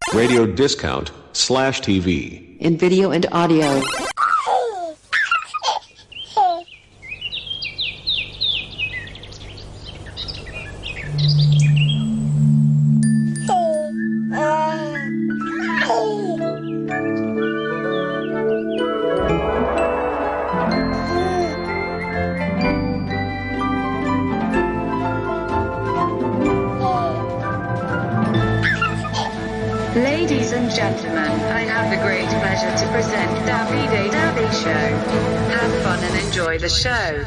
radiodiscount/TV. In video and audio. Ladies and gentlemen, I have the great pleasure to present Davide Davide Show. Have fun and enjoy the show.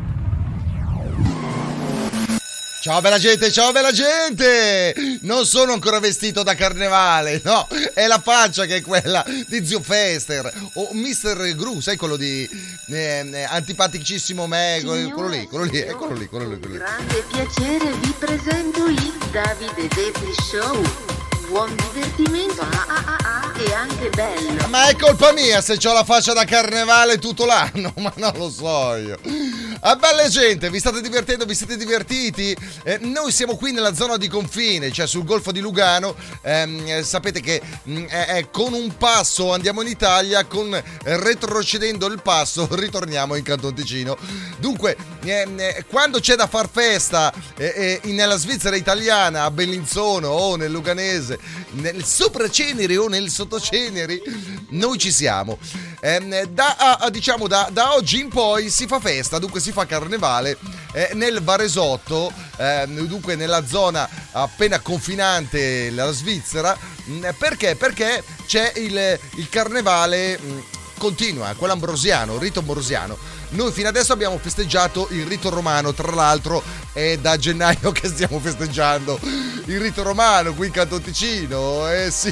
Ciao bella gente, ciao bella gente! Non sono ancora vestito da carnevale, no, è la faccia che è quella di Zio Fester o Mr. Gru, sai quello di antipaticissimo me, quello lì. Grande piacere vi presento il Davide Davide Show. Buon divertimento e anche bello. Ma è colpa mia se c'ho la faccia da carnevale tutto l'anno, ma non lo so io. Ah, bella gente, vi state divertendo, vi siete divertiti? Noi siamo qui nella zona di confine, cioè sul Golfo di Lugano. Sapete che con un passo andiamo in Italia, con retrocedendo il passo ritorniamo in Canton Ticino. Dunque, quando c'è da far festa nella Svizzera italiana, a Bellinzona o nel Luganese, nel Sopraceneri o nel Sottoceneri, noi ci siamo. Da oggi in poi si fa festa, dunque si fa carnevale nel Varesotto, dunque nella zona appena confinante la Svizzera. Perché? Perché c'è il carnevale continua, quello ambrosiano, il rito ambrosiano. Noi fino adesso abbiamo festeggiato il rito romano, tra l'altro è da gennaio che stiamo festeggiando il rito romano qui in Canton Ticino, sì.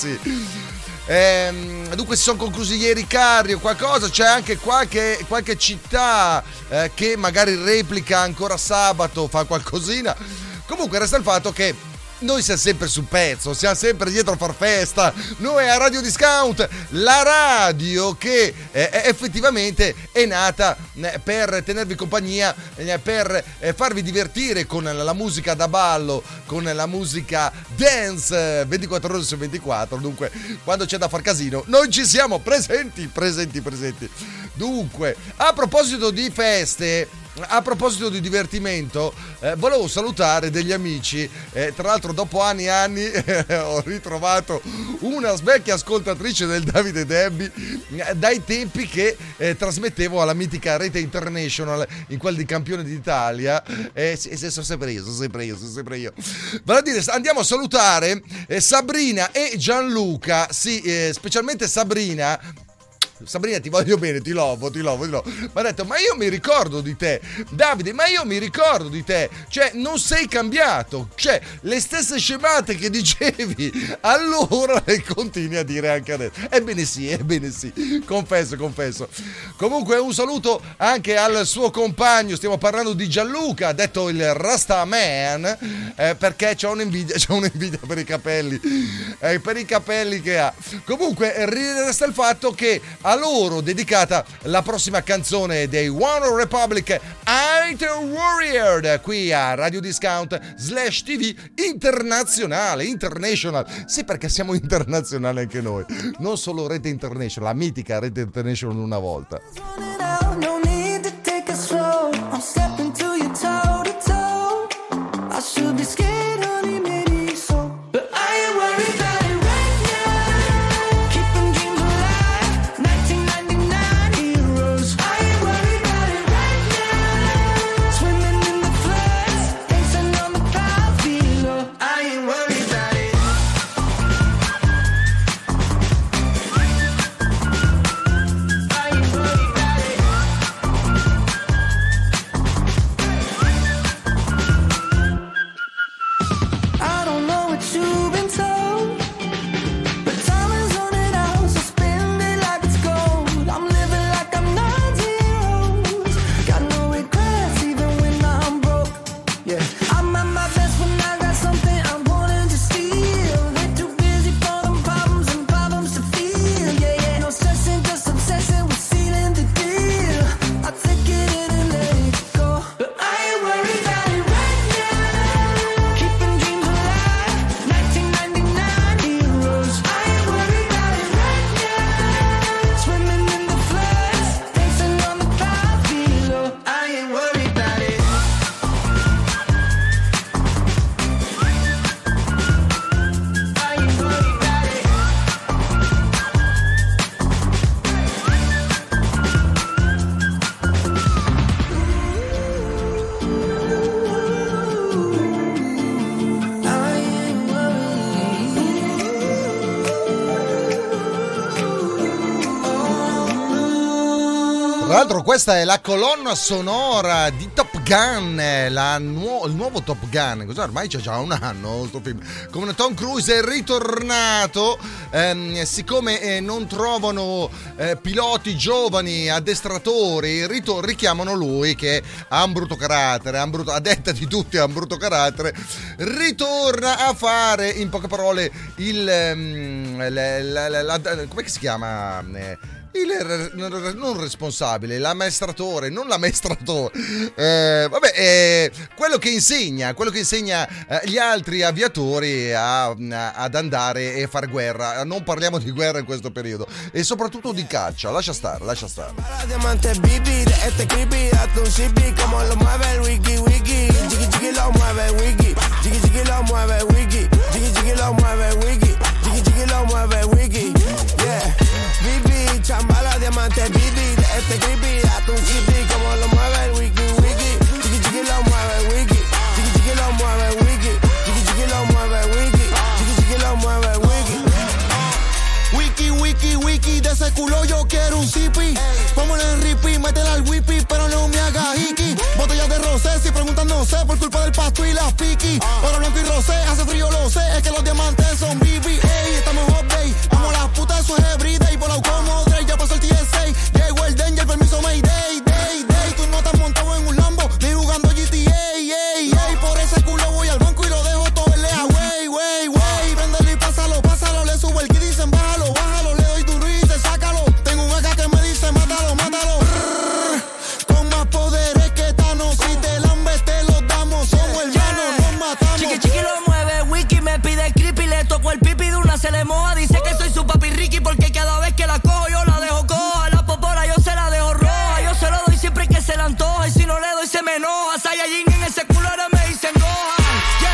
Dunque si sono conclusi ieri i carri o qualcosa, c'è anche qualche città che magari replica ancora sabato, fa qualcosina. Comunque resta il fatto che noi siamo sempre sul pezzo, siamo sempre dietro a far festa. Noi a Radio Discount, la radio che effettivamente è nata per tenervi compagnia, per farvi divertire con la musica da ballo, con la musica dance 24 ore su 24. Dunque, quando c'è da far casino, noi ci siamo presenti. Dunque, a proposito di feste, a proposito di divertimento, volevo salutare degli amici. Tra l'altro dopo anni e anni ho ritrovato una vecchia ascoltatrice del Davide Debbie dai tempi che trasmettevo alla mitica Rete International, in quel di Campione d'Italia. Sono sempre io. Vale a dire, andiamo a salutare Sabrina e Gianluca, sì, specialmente Sabrina, ti voglio bene, ti lovo. Mi ha detto, ma io mi ricordo di te, Davide, cioè non sei cambiato, cioè le stesse scemate che dicevi allora le continui a dire anche adesso. Ebbene sì, confesso. Comunque un saluto anche al suo compagno, stiamo parlando di Gianluca, detto il Rastaman, perché c'ho un'invidia per i capelli che ha. Comunque resta il fatto che a loro dedicata la prossima canzone dei One Republic, Iron Warrior, qui a Radio Discount /TV International. Sì, perché siamo internazionali anche noi, non solo Rete International, la mitica Rete International una volta. Tra l'altro questa è la colonna sonora di Top Gun, il nuovo Top Gun. Cos'è? Ormai c'è già un anno sto film. Come Tom Cruise è ritornato, siccome non trovano piloti giovani, addestratori, richiamano lui che ha un brutto carattere, a detta di tutti ha un brutto carattere, ritorna a fare, in poche parole, come si chiama? Non responsabile, l'ammaestratore, non l'ammaestratore, quello che insegna gli altri aviatori ad andare e fare guerra. Non parliamo di guerra in questo periodo e soprattutto di caccia, lascia stare. Diamante Bibi, de este creepy, hazte un shippy, como lo mueve el wiki wiki, jiggy jiggy lo mueve el wiki, jiggy jiggy lo mueve el wiki, jiggy jiggy lo mueve el wiki, jiggy jiggy lo mueve el wiki, yeah. Bibi, chambala, diamante Bibi, de este creepy, hazte un shippy, como lo mueve el wiki wiki, jiggy jiggy lo mueve el wiki, jiggy jiggy lo mueve el wiki, jiggy jiggy lo mueve el wiki, jiggy jiggy lo mueve el wiki. Wiki, wiki, wiki, de ese culo yo quiero un zippy. Póngale en ripi, métela al whippy, pero no me haga hiki. Botellas de rosé, si preguntan no sé, por culpa del pasto y las piqui. Oro blanco y rosé, hace frío lo sé, es que los diamantes son BB. Ey, estamos hot day, amo las putas, eso es everyday. Por la como Dre, ya pasó el TSA. Llegó el danger, permiso Mayday, day. Tú no estás montado en un Lambo, ni jugando GTA, ey. Por ese culo voy al banco y lo dejo todo en lea, wey. Préndelo y pásalo, le subo el kit y dicen bájalo, le doy duro y te sácalo. Tengo un acá que me dice mátalo. Con más poderes que Thanos, si te lambes te los damos. Somos hermanos, nos matamos. Chiqui lo mueve, Wiki me pide creepy, le toco el pipi de una se le moja. Dice que soy su papi Ricky porque cada vez que la cojo yo la dejo coja. La popola yo se la dejo roja, yo se lo doy siempre que se la antoja. Y si no le doy se me enoja. Saiyajin en ese culo ahora me dicen Gohan.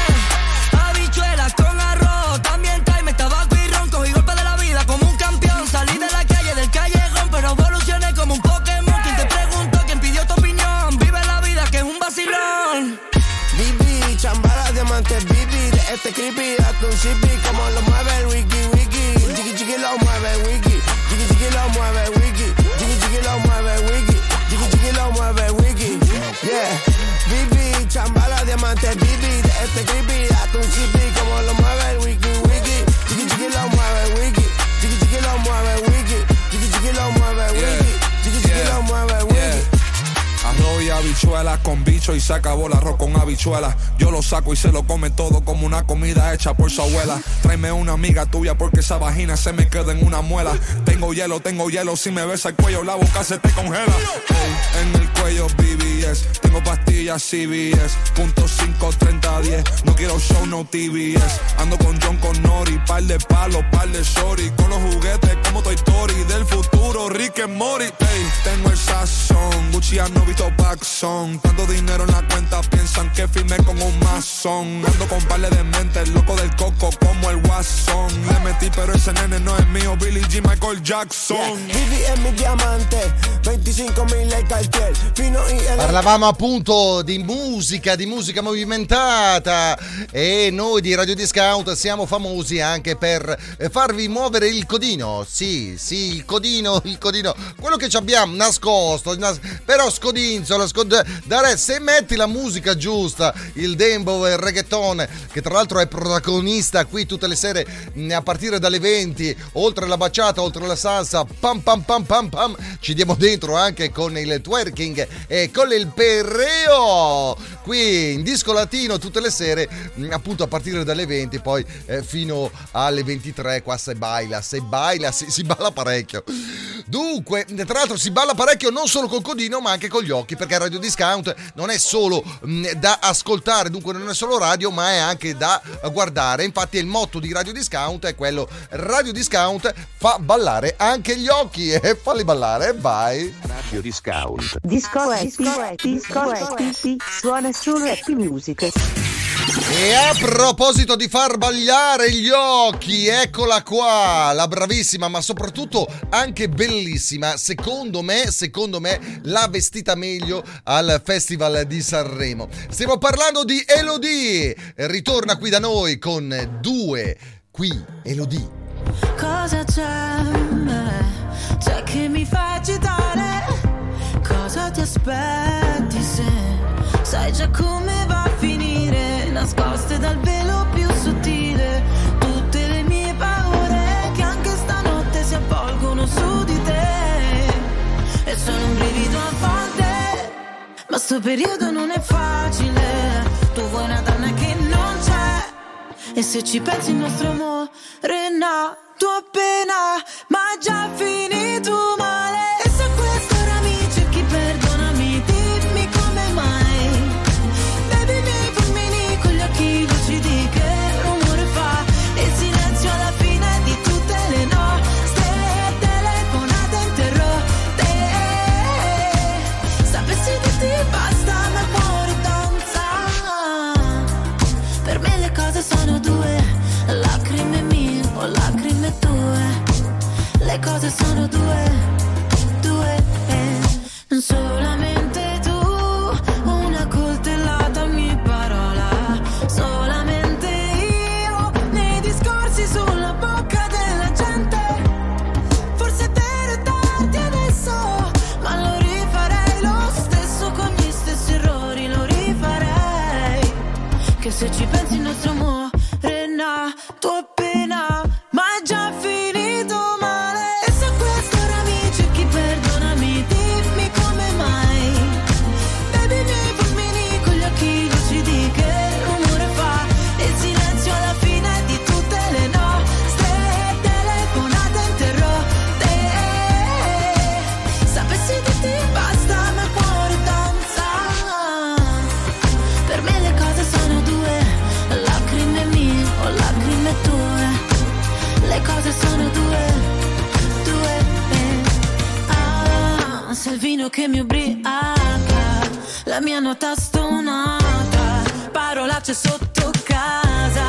Yeah, habichuelas con arroz, también me tabaco y ron. Cogí golpe de la vida como un campeón. Salí de la calle, del callejón, pero evolucioné como un Pokémon. Quien te preguntó, quien pidió tu opinión. Vive la vida que es un vacilón. Bibi, chambala, diamante Bibi, de este creepy, hazte un shippy, como lo mueve el wiki wiki, jiggy jiggy lo mueve el wiki, jiggy jiggy lo mueve el wiki, jiggy jiggy lo mueve el wiki, jiggy jiggy lo mueve el wiki, yeah. Bibi, chambala, diamante Bibi, de este creepy, hazte un shippy, como lo mueve el wiki wiki, jiggy jiggy lo mueve el wiki, jiggy jiggy lo mueve el wiki, jiggy jiggy lo mueve el wiki, jiggy jiggy lo mueve el wiki. Arroz y habichuelas con bicho y se acabó el arroz con habichuelas. Yo lo saco y se lo come todo como una comida hecha por su abuela. Tráeme una amiga tuya porque esa vagina se me queda en una muela. Tengo hielo, si me besa el cuello la boca se te congela. Hey, en el cuello BBS, tengo pastillas CBS, punto 5, 30, 10. No quiero show, no TBS. Ando con John Connori, par de palos, par de shorty. Con los juguetes como Toy Story, del futuro Rick and Morty. Hey, tengo el sazón, Gucci no visto Paxson. Tanto dinero en la cuenta, piensan que firmé con un masón. Ando con par de mentes, loco del coco como el Guasón. Le metí pero ese nene no es mío, Billie G, Michael Jackson. Vivi è mi diamante, 25.000 il Cartier, fino in Parlavamo appunto di musica movimentata e noi di Radio Discount siamo famosi anche per farvi muovere il codino. Sì, il codino, quello che ci abbiamo nascosto, però scodinzola, se metti la musica giusta, il dembow e il reggaeton, che tra l'altro è protagonista qui tutte le sere a partire dalle 20, oltre la baciata, oltre la salsa, pam pam pam pam pam, ci diamo dentro anche con il twerking e con il perreo qui in Disco Latino tutte le sere, appunto a partire dalle 20 poi fino alle 23. Qua si balla parecchio. Dunque, tra l'altro si balla parecchio non solo col codino ma anche con gli occhi, perché Radio Discount non è solo da ascoltare, dunque non è solo radio ma è anche da guardare. Infatti il motto di Radio Discount è quello: Radio Discount fa ballare anche gli occhi, e falli ballare, vai. Radio Discount. Disco Happy, suona solo Happy Music. E a proposito di far ballare gli occhi, eccola qua, la bravissima ma soprattutto anche bellissima, secondo me l'ha vestita meglio al Festival di Sanremo. Stiamo parlando di Elodie, ritorna qui da noi con Due, qui Elodie. Cosa c'è che mi fa agitare? cosa ti aspetti se sai già come va a finire, nascoste dal velo più sottile, tutte le mie paure che anche stanotte si avvolgono su di te, e sono un brivido a volte, ma sto periodo non è facile, tu vuoi una donna che non c'è, e se ci pensi il nostro amore è nato appena, ma già finito male. E se a quest'ora mi cerchi, perdonami, dimmi come mai. Bevi i miei fulmini con gli occhi lucidi, che rumore fa il silenzio alla fine di tutte le nostre telefonate interrotte. Sapessi che ti basta, ma il cuore danza. Per me le cose sono due, lacrime mie o lacrime tue. Le cose sono due, solamente tu, una coltellata ogni parola, solamente io, nei discorsi sulla bocca della gente. Forse è vero tardi adesso, ma lo rifarei lo stesso, con gli stessi errori lo rifarei, che se ci pensi il nostro amore è nato appena, ma è già finito male. E se a quest'ora mi cerchi, perdonami, dimmi come mai. Bevi i miei fulmini con gli occhi lucidi, che rumore fa il silenzio alla fine di tutte le nostre telefonate interrotte. Sapessi che ti basta, ma il cuore danza. Per me le cose sono due, lacrime mie o lacrime tue. Le cose sono due, ah, se il vino che mi ubriaca, la mia nota stonata, parolacce sotto casa,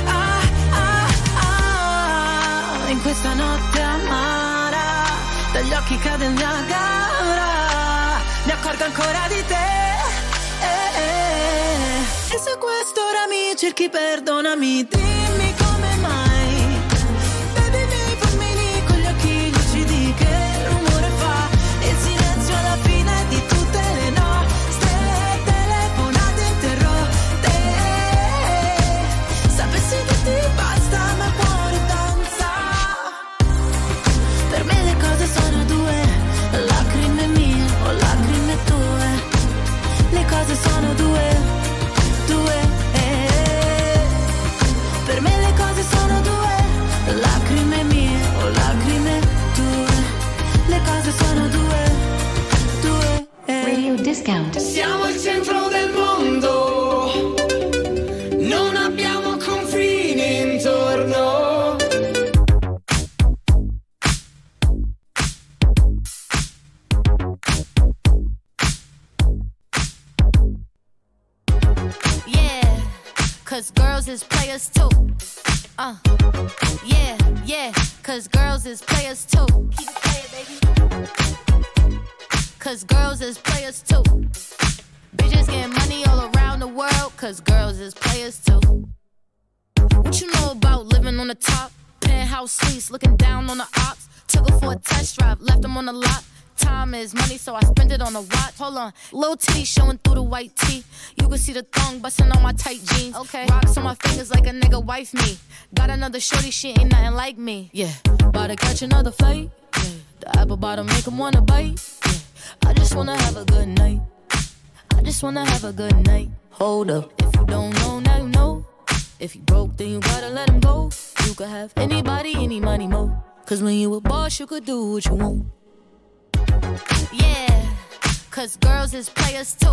in questa notte amara, dagli occhi cade il Niagara, mi accorgo ancora di te, e se a quest'ora mi cerchi, perdonami, dimmi come mai. Bevi i miei fulmini con gli occhi lucidi, che rumore fa il silenzio alla fine di tutte le nostre telefonate interrotte. Sapessi che ti basta, ma il cuore danza. Per me le cose sono due, lacrime mie o lacrime tue. Le cose sono due, per me le cose sono due, lacrime mie o lacrime tue. Le cose sono due, Radio Discount. Siamo il centro del mondo, non abbiamo confini intorno. Yeah, 'cause girls is players too. Yeah, 'cause girls is players too. Keep it playing, baby. 'Cause girls is players too. Bitches getting money all around the world, 'cause girls is players too. What you know about living on the top? Penthouse suites, looking down on the ops. Took her for a test drive, left them on the lot. Time is money, so I spend it on a watch. Hold on, little titty showing through the white tee. You can see the thong busting on my tight jeans. Okay, rocks on my fingers like a nigga wife me. Got another shorty, she ain't nothing like me. Yeah, about to catch another fight. Yeah, the apple bottom make him wanna bite. Yeah, I just wanna have a good night. I just wanna have a good night. Hold up, if you don't know, now you know. If you broke, then you gotta let him go. You could have anybody, any money, mo. 'Cause when you a boss, you could do what you want. Yeah, 'cause girls is players too.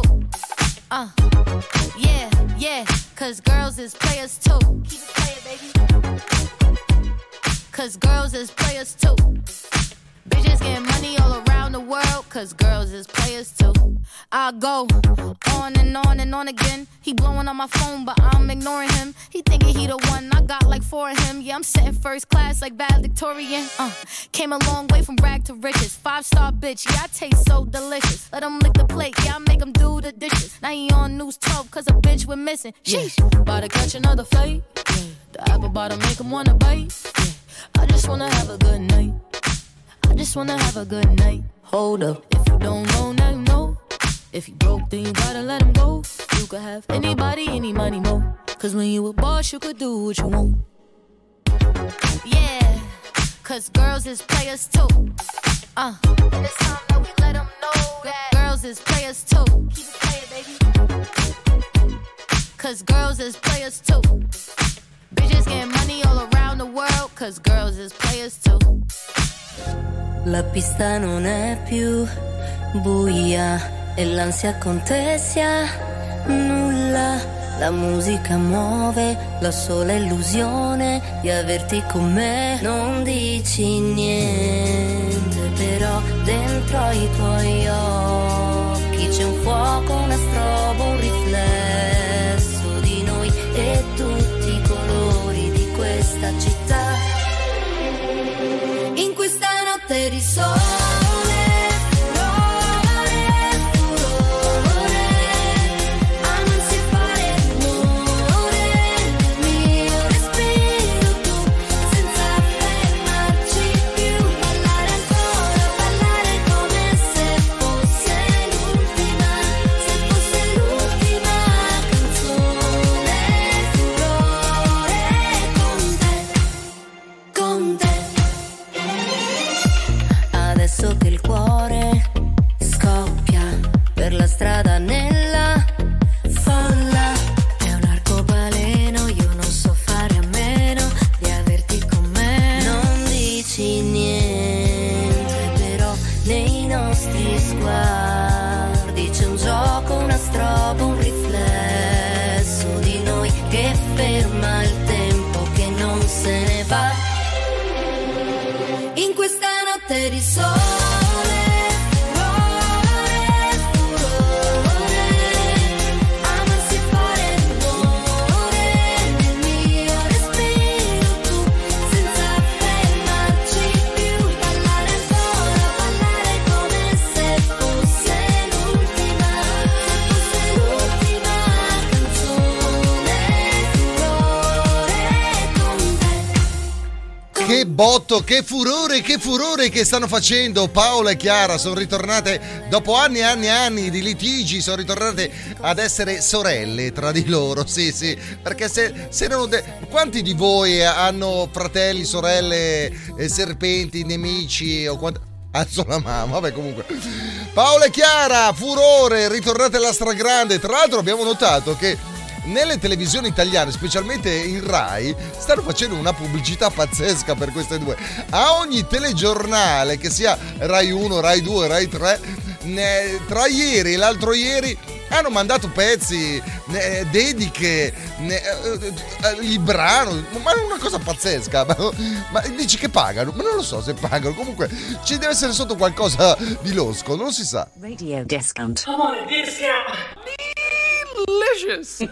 Yeah, 'cause girls is players too. Keep it playing, baby. 'Cause girls is players too. Bitches getting money all around the world, 'cause girls is players too. I go on and on and on again. He blowing on my phone, but I'm ignoring him. He thinking he the one, I got like 4 of him. Yeah, I'm sitting first class like valedictorian. Came a long way from rag to riches. 5-star bitch, yeah, I taste so delicious. Let him lick the plate, yeah, I make him do the dishes. Now he on news 12, 'cause a bitch we're missing. Sheesh, about to catch another fight. Yeah, the apple bottom make him wanna bite. Yeah, I just wanna have a good night. I just wanna have a good night. Hold up, if you don't know, now you know. If he broke, then you gotta let him go. You could have anybody, any money, mo. Cause when you a boss, you could do what you want. Yeah, cause girls is players too. And it's time that we let them know that girls is players too. Keep it playing, baby. Cause girls is players too. Bitches getting money all around the world. Cause girls is players too. La pista non è più buia e l'ansia contessa nulla. La musica muove la sola illusione di averti con me. Non dici niente, però dentro ai tuoi occhi c'è un fuoco, una strobo, un riflesso di noi e tutti i colori di questa città. In questa notte di sole che il cuore scoppia per la strada nella folla. È un arcobaleno, io non so fare a meno di averti con me. Non dici niente, però nei nostri sguardi c'è un gioco, una strobo, un riflesso di noi che ferma il tempo che non se ne va. In questa notte di sole Che botto, che furore che stanno facendo Paola e Chiara. Sono ritornate dopo anni e anni e anni di litigi, sono ritornate ad essere sorelle tra di loro. Sì, perché se erano quanti di voi hanno fratelli, sorelle, serpenti, nemici o quanti... Alzo la mano, vabbè, comunque. Paola e Chiara, furore, ritornate alla stragrande. Tra l'altro abbiamo notato che nelle televisioni italiane, specialmente in Rai, stanno facendo una pubblicità pazzesca per queste due. A ogni telegiornale, che sia Rai 1, Rai 2, Rai 3, tra ieri e l'altro ieri hanno mandato pezzi, dediche, il brano, ma è una cosa pazzesca. Ma dici che pagano? Ma non lo so se pagano. Comunque ci deve essere sotto qualcosa di losco, non si sa. Radio discount. Come on, discount. Delicious.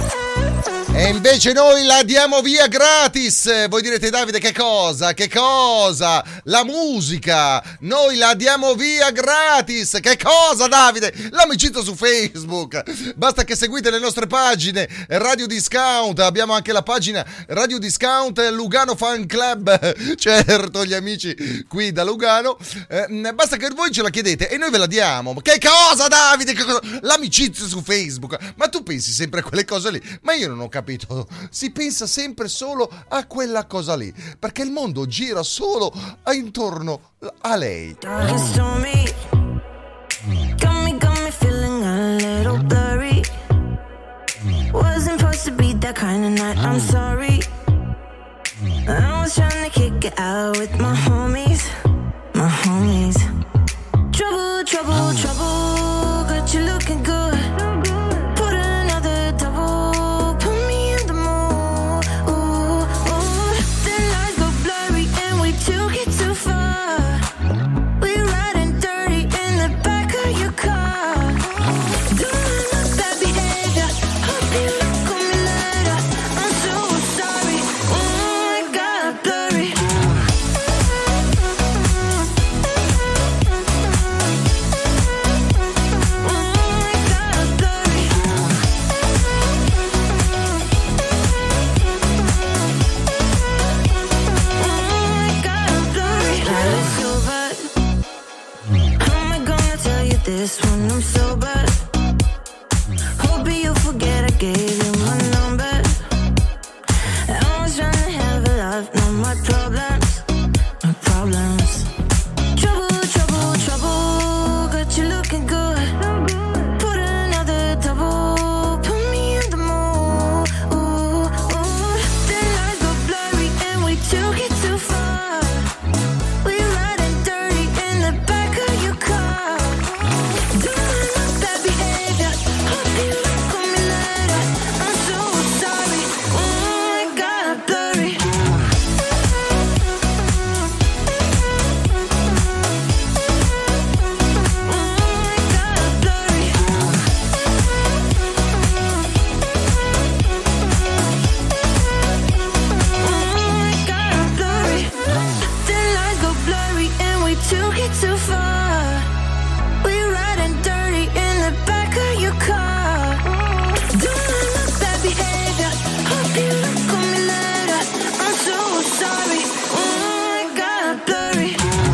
E invece noi la diamo via gratis. Voi direte: Davide, che cosa? Che cosa? La musica. Noi la diamo via gratis. Che cosa, Davide? L'amicizia su Facebook. Basta che seguite le nostre pagine Radio Discount. Abbiamo anche la pagina Radio Discount Lugano Fan Club. Certo, gli amici qui da Lugano. Basta che voi ce la chiedete e noi ve la diamo. Che cosa, Davide? Che cosa? L'amicizia su Facebook. Ma tu pensi sempre a quelle cose lì? Ma io non ho capito. Si pensa sempre solo a quella cosa lì, perché il mondo gira solo intorno a lei. Got me feeling a little blurry. Wasn't supposed to be that kind of night, I'm sorry. I was trying to kick it out with my homies. Trouble, got you looking good. Put another double, put me in the mood. The lines go blurry and we took it too far. We riding dirty in the back of your car. Doing my bad behavior, hope you don't call me later. I'm so sorry, I got blurry. not my problems, my problems. Trouble, trouble, trouble, got you looking good. Put another double, put me in the mood. The lines go blurry and we took it too far. We riding dirty in the back of your car. Doing up that behavior, hope you look on me later. I'm so sorry, it got blurry. Took it too far. We're riding dirty in the back of your car. Doing up that behavior. Hope you look on me later. I'm so sorry. It got blurry.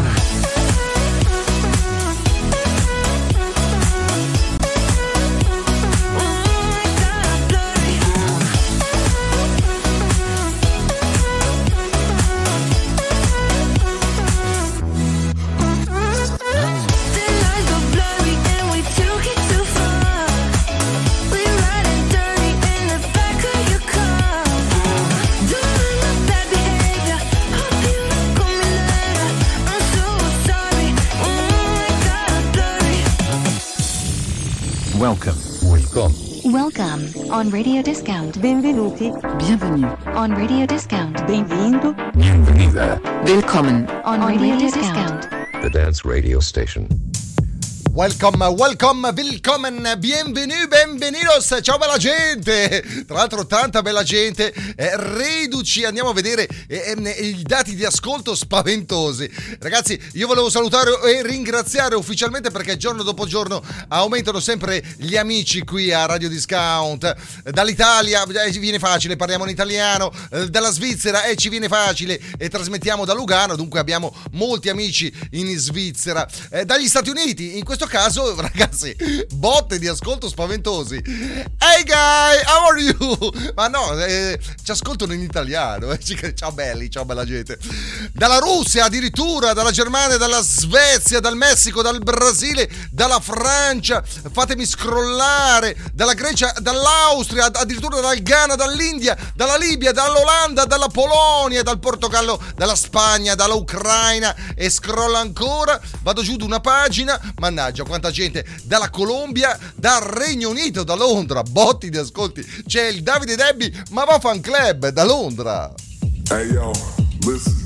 Welcome on Radio Discount. Benvenuti. Bienvenue on Radio Discount. Benvenuto. Bienvenida. Willkommen on Radio Discount. The Dance Radio Station. Welcome, willkommen, bienvenue, benvenidos, ciao bella gente, tra l'altro tanta bella gente, reduci, andiamo a vedere i dati di ascolto spaventosi. Ragazzi, io volevo salutare e ringraziare ufficialmente perché giorno dopo giorno aumentano sempre gli amici qui a Radio Discount. Dall'Italia ci viene facile, parliamo in italiano, dalla Svizzera ci viene facile e trasmettiamo da Lugano, dunque abbiamo molti amici in Svizzera, dagli Stati Uniti, in questo caso ragazzi botte di ascolto spaventosi. Hey guy, how are you? Ma no, ci ascoltano in italiano. Ciao belli, ciao bella gente. Dalla Russia addirittura, dalla Germania, dalla Svezia, dal Messico, dal Brasile, dalla Francia, fatemi scrollare, dalla Grecia, dall'Austria, addirittura dal Ghana, dall'India, dalla Libia, dall'Olanda, dalla Polonia, dal Portogallo, dalla Spagna, dalla Ucraina e scrolla ancora, vado giù di una pagina, mannaggia quanta gente, dalla Colombia, dal Regno Unito, da Londra, botti di ascolti, c'è il Davide Debbie, ma va fan club da Londra. Hey yo, listen,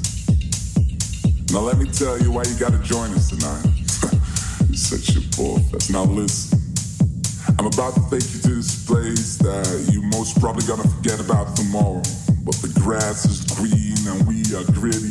now let me tell you why you gotta join us tonight. You such a bullfest. Now listen, I'm about to take you to this place that you most probably gonna forget about tomorrow, but the grass is green and we are gritty.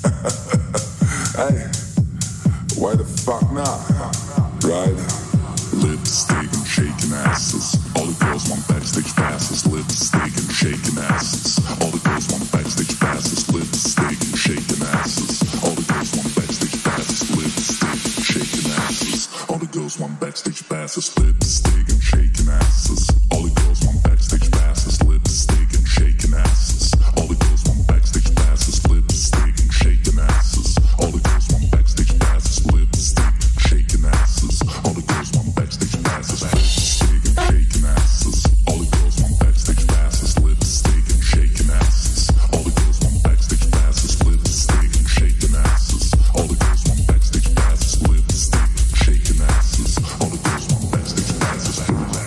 Hey, why the fuck not? Right? Lipstick and shaking asses. All the girls want backstage passes. Lipstick and shaking asses. All the girls want backstage passes. Lipstick and shaking asses. All the girls want backstage passes. Lipstick and shaking asses. All the girls want backstage passes. Lipstick and shaking asses. All the girls want backstage passes. Lipstick and shaking asses. All the girls want backstage passes. Lipstick and shaking asses. All the girls want backstage passes. Lipstick shaking asses. All the girls want backstage passes. Lipstick and shaking asses. All the girls want backstage passes. Lipstick and shaking asses. All the girls want backstage passes. Lipstick and shaking asses. All the girls want backstage passes. Lipstick and shaking asses. All the girls want backstage passes.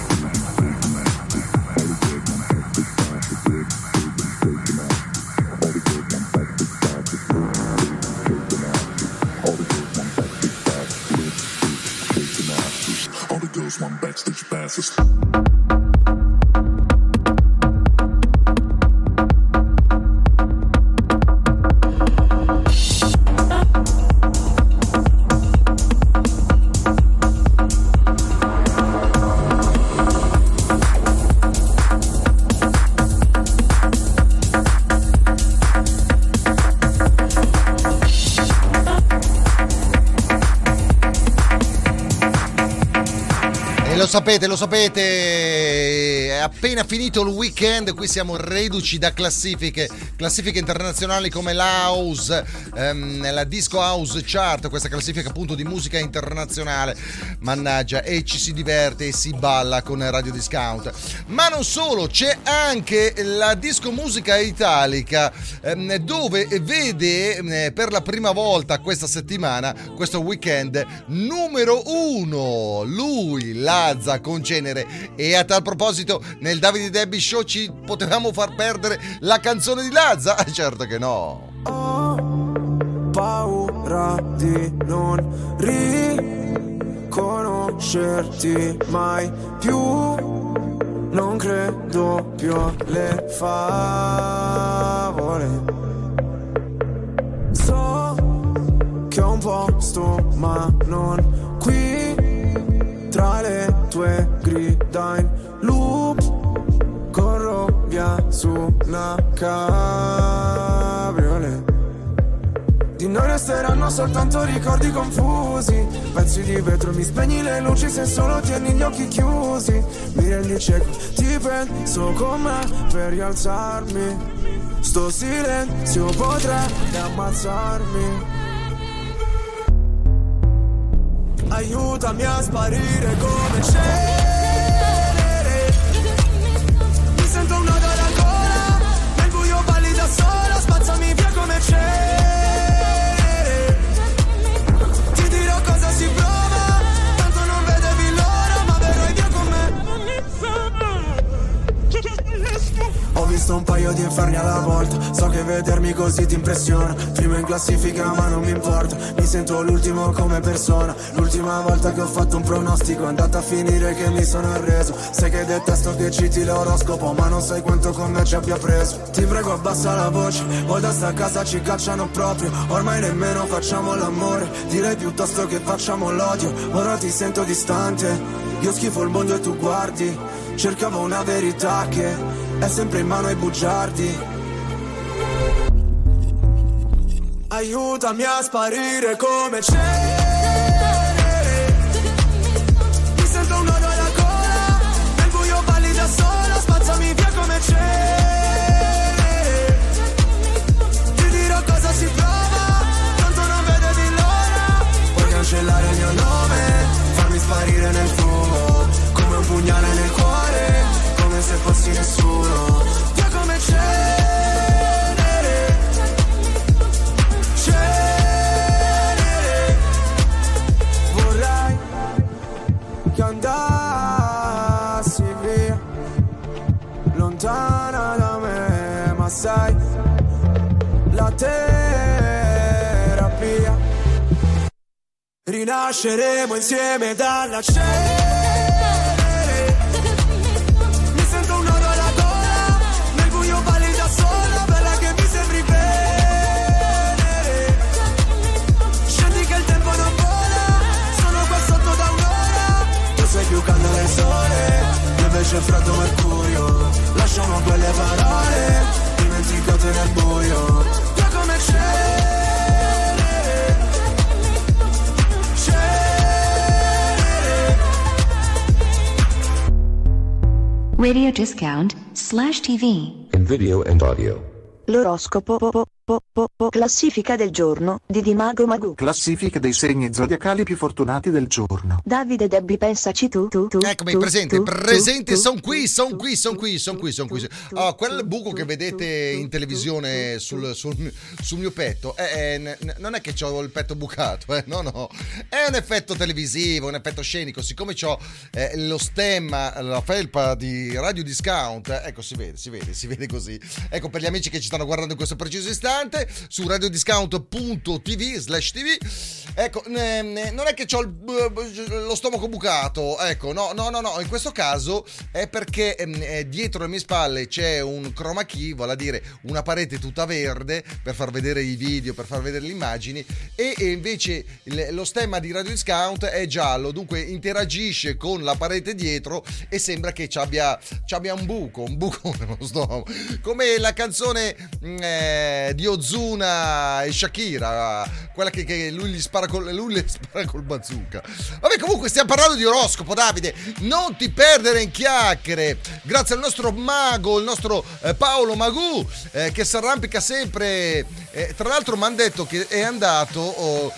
All the girls want backstage passes. Lo sapete, appena finito il weekend, qui siamo reduci da classifiche internazionali come l'House, la Disco House Chart, questa classifica appunto di musica internazionale. Mannaggia, e ci si diverte e si balla con Radio Discount. Ma non solo, c'è anche la disco musica italica, dove vede per la prima volta questa settimana, questo weekend, numero 1 lui, Lazza con Cenere. E a tal proposito, nel Davide Debbie Show ci potevamo far perdere la canzone di Lazza? Certo che no. Ho paura di non riconoscerti mai più, non credo più alle favole. So che ho un posto ma non qui, tra le tue grida in loop, corro via su una cabriolet. Di noi resteranno soltanto ricordi confusi, pezzi di vetro, mi spegni le luci se solo tieni gli occhi chiusi. Mi rendi cieco, ti penso con me per rialzarmi, sto silenzio potrebbe ammazzarmi. Aiutami a sparire come cenere, mi sento un nodo alla gola, nel buio balli da sola, spazzami via come cenere. Ti dirò cosa si prova, tanto non vedevi l'ora, ma verrai via con me. Ho visto un paio di inferni alla volta, so che vedermi così ti impressiona. Primo in classifica ma non mi importa, mi sento l'ultimo come persona. L'ultima volta che ho fatto un pronostico è andata a finire che mi sono arreso. Sai che detesto che citi l'oroscopo, ma non sai quanto con me ci abbia preso. Ti prego abbassa la voce, o da sta casa ci cacciano proprio. Ormai nemmeno facciamo l'amore, direi piuttosto che facciamo l'odio. Ora ti sento distante, io schifo il mondo e tu guardi. Cercavo una verità che è sempre in mano ai bugiardi. Aiutami a sparire come cenere, mi sento un nodo alla gola, nel buio balli da sola, spazzami via come cenere. Ti dirò cosa si prova, tanto non vedevi l'ora. Puoi cancellare il mio nome, farmi sparire nel fumo, come un pugnale nel cuore, come se fossi nessuno. Via come cenere. Vorrei che andassi via, lontana da me, ma sai, la terapia. Rinasceremo insieme dalla cenere, mi sento un nodo alla gola, nel buio balli da sola, bella che mi sembri venere. Scendi che il tempo non vola, sono qua sotto da un'ora. Tu sei più caldo del sole, io invece freddo mercurio. Lasciamo quelle parole dimenticate nel buio. Via come cenere. Radio Discount /TV. In video and audio. L'oroscopo classifica del giorno di Dimago Magù. Classifica dei segni zodiacali più fortunati del giorno. Davide Debbie, pensaci tu. Eccomi, presente, son qui. Oh, quel buco che vedete in televisione sul mio petto, non è che ho il petto bucato, no, è un effetto televisivo, un effetto scenico. Siccome ho lo stemma, la felpa di Radio Discount, ecco, si vede così. Ecco, per gli amici che ci stanno guardando in questo preciso istante su radiodiscount.tv/tv, ecco, non è che ho lo stomaco bucato, ecco, no, in questo caso è perché dietro le mie spalle c'è un chroma key, vale a dire una parete tutta verde per far vedere i video, per far vedere le immagini, e invece lo stemma di Radio Discount è giallo, dunque interagisce con la parete dietro e sembra che ci abbia un buco nello stomaco, come la canzone di di Ozuna e Shakira, quella che lui le spara col bazooka. Vabbè, comunque stiamo parlando di oroscopo, Davide, non ti perdere in chiacchiere, grazie al nostro mago, il nostro Paolo Magù, che si arrampica sempre, tra l'altro mi hanno detto che è andato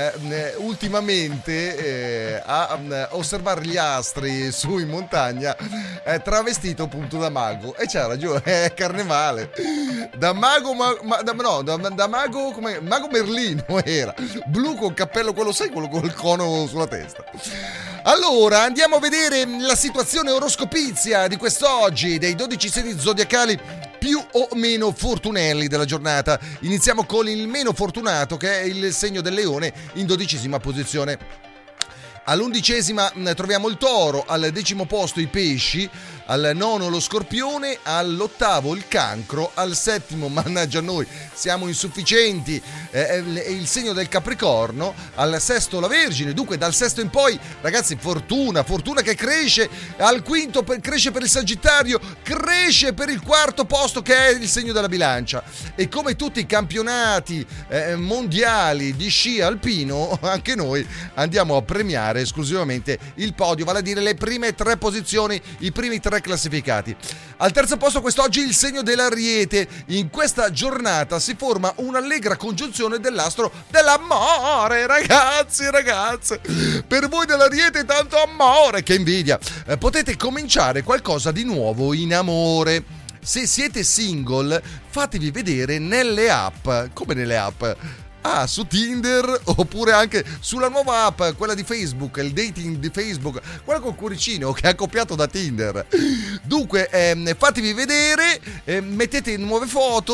ultimamente a osservare gli astri su in montagna, travestito appunto da mago, e c'ha ragione, è carnevale, da mago da mago, come mago Merlino era, blu con cappello, quello sai, quello col cono sulla testa. Allora andiamo a vedere la situazione oroscopizia di quest'oggi, dei 12 segni zodiacali più o meno fortunelli della giornata. Iniziamo con il meno fortunato, che è il segno del Leone, in 12ª posizione. All'11ª troviamo il Toro, al 10° posto i Pesci, al 9° lo Scorpione, all'8° il Cancro, al 7° mannaggia a noi, siamo insufficienti, il segno del Capricorno, al 6° la Vergine. Dunque dal 6° in poi, ragazzi, fortuna che cresce, al 5° cresce per il Sagittario, cresce per il 4° posto, che è il segno della Bilancia. E come tutti i campionati mondiali di sci alpino, anche noi andiamo a premiare esclusivamente il podio, vale a dire le prime 3 posizioni, i primi 3 classificati. Al 3° posto quest'oggi il segno dell'Ariete. In questa giornata si forma un'allegra congiunzione dell'astro dell'amore, ragazzi, ragazze. Per voi dell'Ariete tanto amore, che invidia. Potete cominciare qualcosa di nuovo in amore. Se siete single, fatevi vedere nelle app. Come nelle app? Su Tinder, oppure anche sulla nuova app, quella di Facebook, il dating di Facebook, quella col cuoricino che è accoppiato da Tinder. Dunque fatevi vedere, mettete nuove foto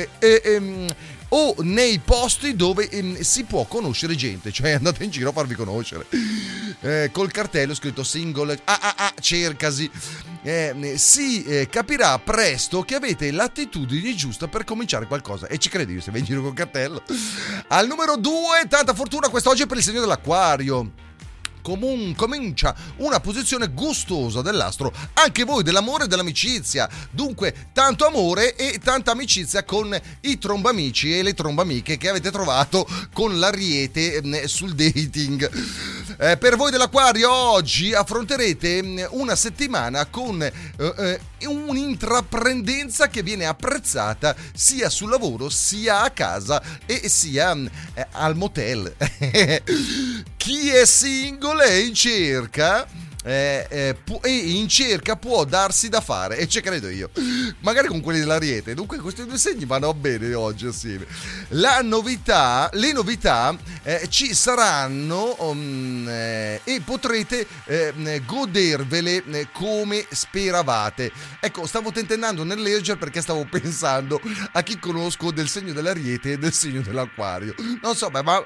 o nei posti dove si può conoscere gente, cioè andate in giro a farvi conoscere col cartello scritto single cercasi. Si capirà presto che avete l'attitudine giusta per cominciare qualcosa, e ci credo io se vai in giro col cartello. Al numero 2, tanta fortuna quest'oggi per il segno dell'Acquario. Comincia una posizione gustosa dell'astro, anche voi dell'amore e dell'amicizia. Dunque tanto amore e tanta amicizia con i trombamici e le trombamiche che avete trovato con l'Ariete sul dating. Per voi dell'Acquario oggi affronterete una settimana con un'intraprendenza che viene apprezzata sia sul lavoro sia a casa e sia al motel. Chi è single è in cerca può darsi da fare, e ci credo io, magari con quelli dell'Ariete. Dunque questi 2 segni vanno bene oggi assieme. Le novità ci saranno e potrete godervele come speravate. Ecco, stavo tentennando nel leggere perché stavo pensando a chi conosco del segno dell'Ariete e del segno dell'Acquario. Non so, ma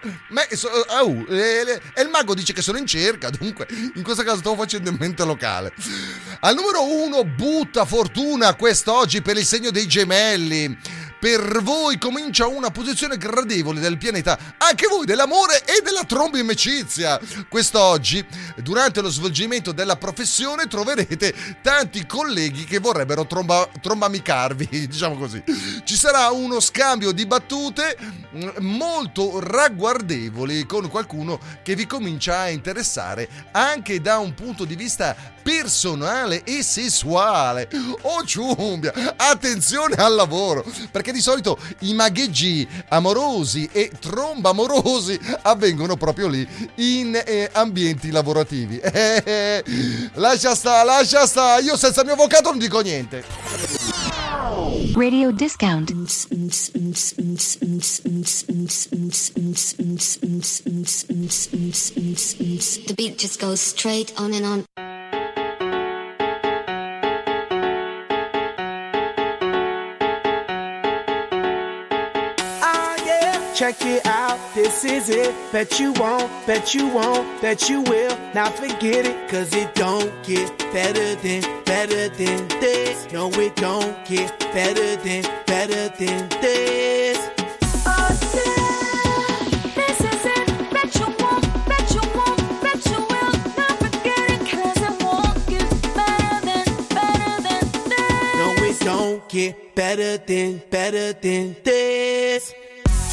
il mago dice che sono in cerca, dunque in questo caso stavo facendo in mente locale. Al numero 1, butta fortuna quest'oggi per il segno dei Gemelli. Per voi comincia una posizione gradevole del pianeta, anche voi dell'amore e della trombamicizia. Quest'oggi, durante lo svolgimento della professione, troverete tanti colleghi che vorrebbero trombamicarvi, diciamo così. Ci sarà uno scambio di battute molto ragguardevoli con qualcuno che vi comincia a interessare anche da un punto di vista personale e sessuale. Oh ciumbia, attenzione al lavoro, perché di solito i magheggi amorosi e trombamorosi avvengono proprio lì in ambienti lavorativi. Lascia sta, io senza il mio avvocato non dico niente. Radio discount. The beat just goes straight on and on. Check it out, this is it. Bet you won't, bet you will. Now forget it, cause it don't get better than this. No, it don't get better than this. Oh yeah, this is it. Bet you won't, bet you will. Now forget it, cause it won't get better than this. No, it don't get better than this.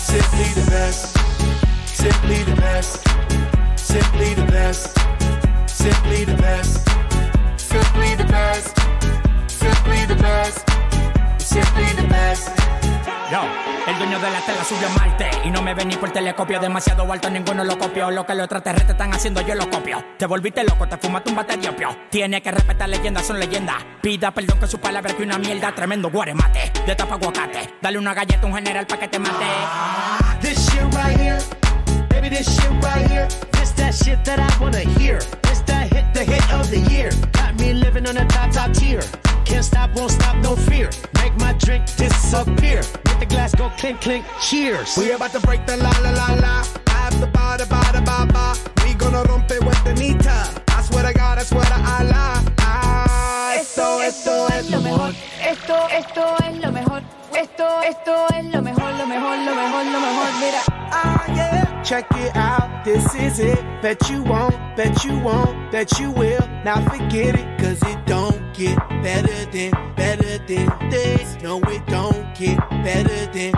Simply the best. Simply the best. Simply the best. Simply the best. Simply the best. Simply the best. Simply the best. Yo, el dueño de la tela subió a Marte y no me ven ni por telescopio, demasiado alto, ninguno lo copió. Lo que los extraterrestres están haciendo yo lo copio. Te volviste loco, te fumaste un bate de opio. Tiene que respetar leyendas, son leyendas. Pida perdón que su palabra que una mierda. Tremendo guaremate, de tapa aguacate. Dale una galleta a un general pa' que te mate. This shit right here, baby, this shit right here. This that shit that I wanna hear. This that hit, the hit of the year. Got me living on a top tier. Can't stop, won't stop, no fear. Make my drink disappear. Make the glass go clink, clink, cheers. We about to break the la la la la. I have the ba da ba da ba ba. We gonna rompe with the nita. I swear to God, I swear to Allah. Esto es lo mejor. Esto es lo mejor. Esto es lo mejor, lo mejor, lo mejor, lo mejor. Mira. Ah yeah, check it out. This is it. Bet you won't, bet you won't, bet you will. Now forget it, cause it don't get better than this. No, it don't get better than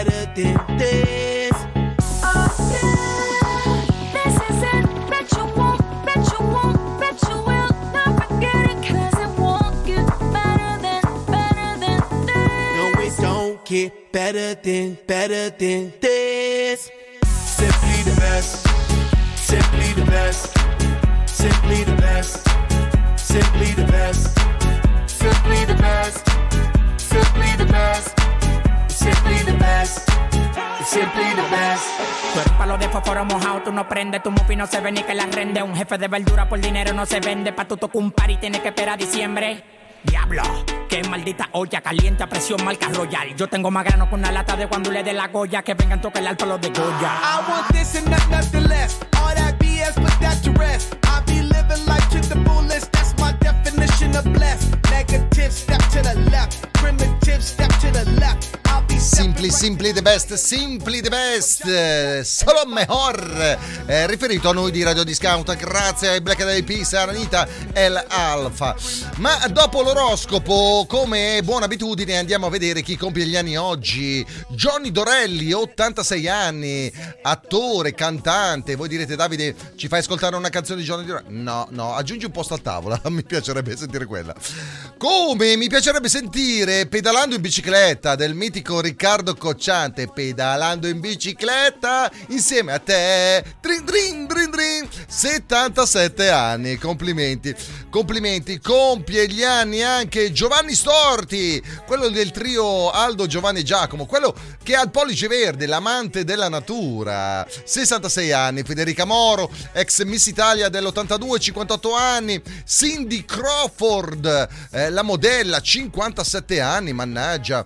this. Oh yeah, this is it. Bet you won't, bet you won't, bet you will. Now forget it, cause it won't get better than this. No, it don't get better than this. Simply the best. Simply the best. Simply the best. Simply the best. Simply the best. Simply the best. Simply the best. Simply the best. Tú eres palo de fósforo mojado, tú no prendes, tu mufi no se ve ni que la rende. Un jefe de verdura por dinero no se vende. Pa' tu tocar un party tienes que esperar a diciembre. Diablo, qué maldita olla caliente a presión marca Royal. Yo tengo más grano con una lata de cuando le dé la Goya. Que vengan tocar el alto los de Goya. I want this and nothing less. All that BS, put that to rest. I be living life to the fullest. That's my definition of blessed. Negative, step to the left. Primitive, step to the left. Simply the best, simply the best, solo mejor, riferito a noi di Radio Discount, grazie ai Black Eyed Peas, Anita e l'Alfa. Ma dopo l'oroscopo, come buona abitudine, andiamo a vedere chi compie gli anni oggi. Johnny Dorelli, 86 anni, attore, cantante. Voi direte: Davide, ci fai ascoltare una canzone di Johnny Dorelli? No, aggiungi un posto a tavola, mi piacerebbe sentire quella. Come mi piacerebbe sentire Pedalando in bicicletta del mitico Riccardo Cocciante, pedalando in bicicletta insieme a te. Drin, drin, drin, drin. 77 anni, complimenti. Compie gli anni anche Giovanni Storti, quello del trio Aldo, Giovanni e Giacomo, quello che ha il pollice verde, l'amante della natura. 66 anni. Federica Moro, ex Miss Italia dell'82, 58 anni. Cindy Crawford, la modella, 57 anni, mannaggia.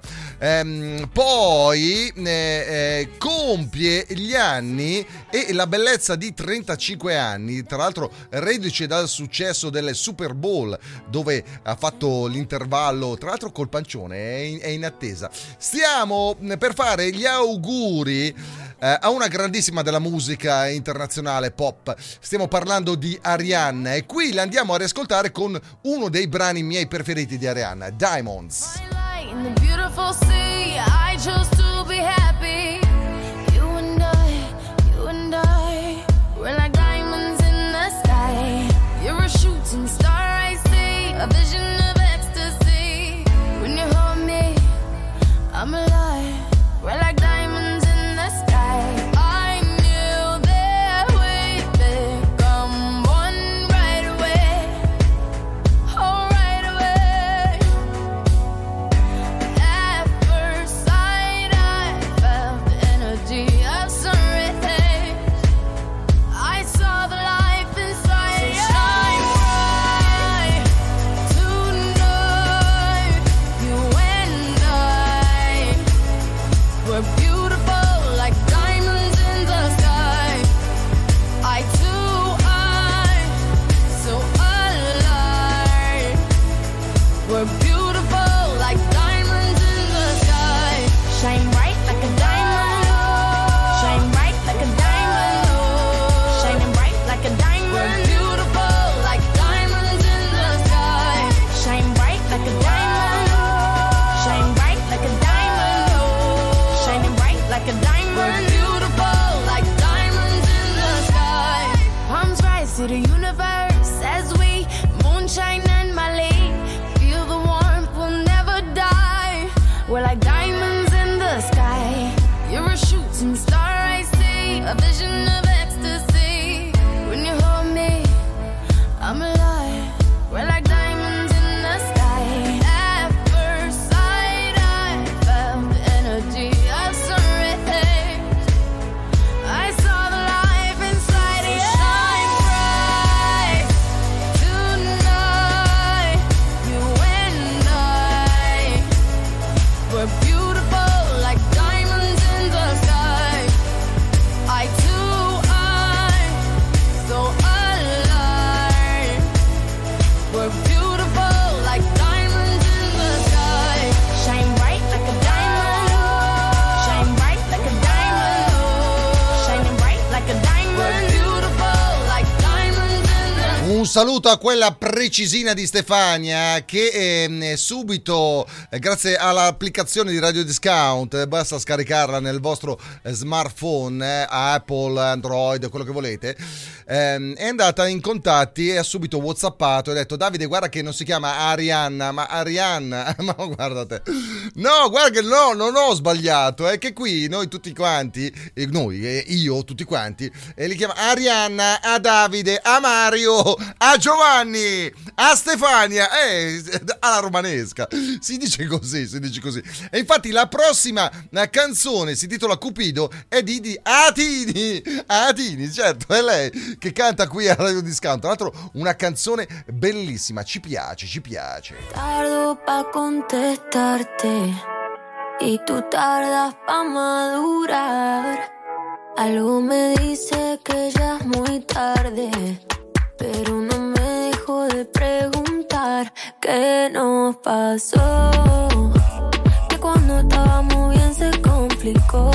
Poi compie gli anni e la bellezza di 35 anni, tra l'altro reduce dal successo delle Super Bowl, dove ha fatto l'intervallo, tra l'altro col pancione, è in attesa. Stiamo per fare gli auguri a una grandissima della musica internazionale pop. Stiamo parlando di Arianna e qui la andiamo a riascoltare con uno dei brani miei preferiti di Arianna, Diamonds. In the beautiful sea, I chose to be happy. You and I, we're like diamonds in the sky. You're a shooting star, I see, a vision of ecstasy. When you hold me, I'm alive. We're like diamonds in the sky. I knew that we'd become one right away. Oh, right away. At first sight, We're beautiful like diamonds in the sky. Palms rise to the universe as we moonshine and Mali. Feel the warmth, we'll never die. We're like diamonds in the sky. You're a shooting star I see, a vision of ecstasy. When you hold me, I'm alive. We're like diamonds in the sky. At first sight, I felt the energy of surrender. I saw the life inside you shine bright tonight. You and I, we're beautiful like diamonds in the sky. I too am so alive. We're beautiful like diamonds in the sky. Shine bright like a diamond. Shine bright like a diamond. Shining bright like a diamond. We're beautiful like diamonds in the Un saluto a quella precisina di Stefania che subito, grazie all'applicazione di Radio Discount, basta scaricarla nel vostro smartphone, Apple, Android, quello che volete, è andata in contatti e ha subito whatsappato e ha detto: Davide, guarda che non si chiama Arianna, ma Arianna. Ma guardate, no, guarda che no, non ho sbagliato, è che qui noi tutti quanti, io tutti quanti, li chiamo Arianna, a Davide, a Mario, a Giovanni, a Stefania, alla romanesca, si dice così. E infatti la prossima canzone si intitola Cupido, è di Atini, certo, è lei che canta qui a Radio Discount. Tra l'altro una canzone bellissima, ci piace. Tardo pa' contestarte y tú tardas pa' madurar. Algo me dice que ya es muy tarde, pero no me dejo de preguntar qué nos pasó. Que cuando estábamos bien se complicó,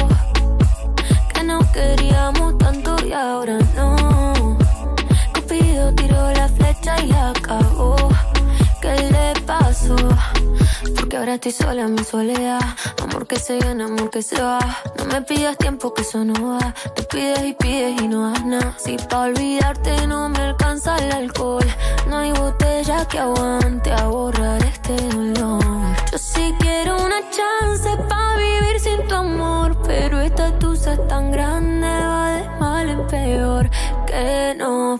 que nos queríamos tanto y ahora no. Cupido tiró la flecha y la cagó. ¿Qué le pasó? Porque ahora estoy sola en mi soledad. Amor que se viene, amor que se va. No me pidas tiempo que eso no va. Tú pides y no das nada. Si pa' olvidarte no me alcanza el alcohol, no hay botella que aguante a borrar este dolor. Yo sí quiero una chance pa' vivir sin tu amor, pero esta tusa es tan grande, va de mal en peor. ¿Qué nos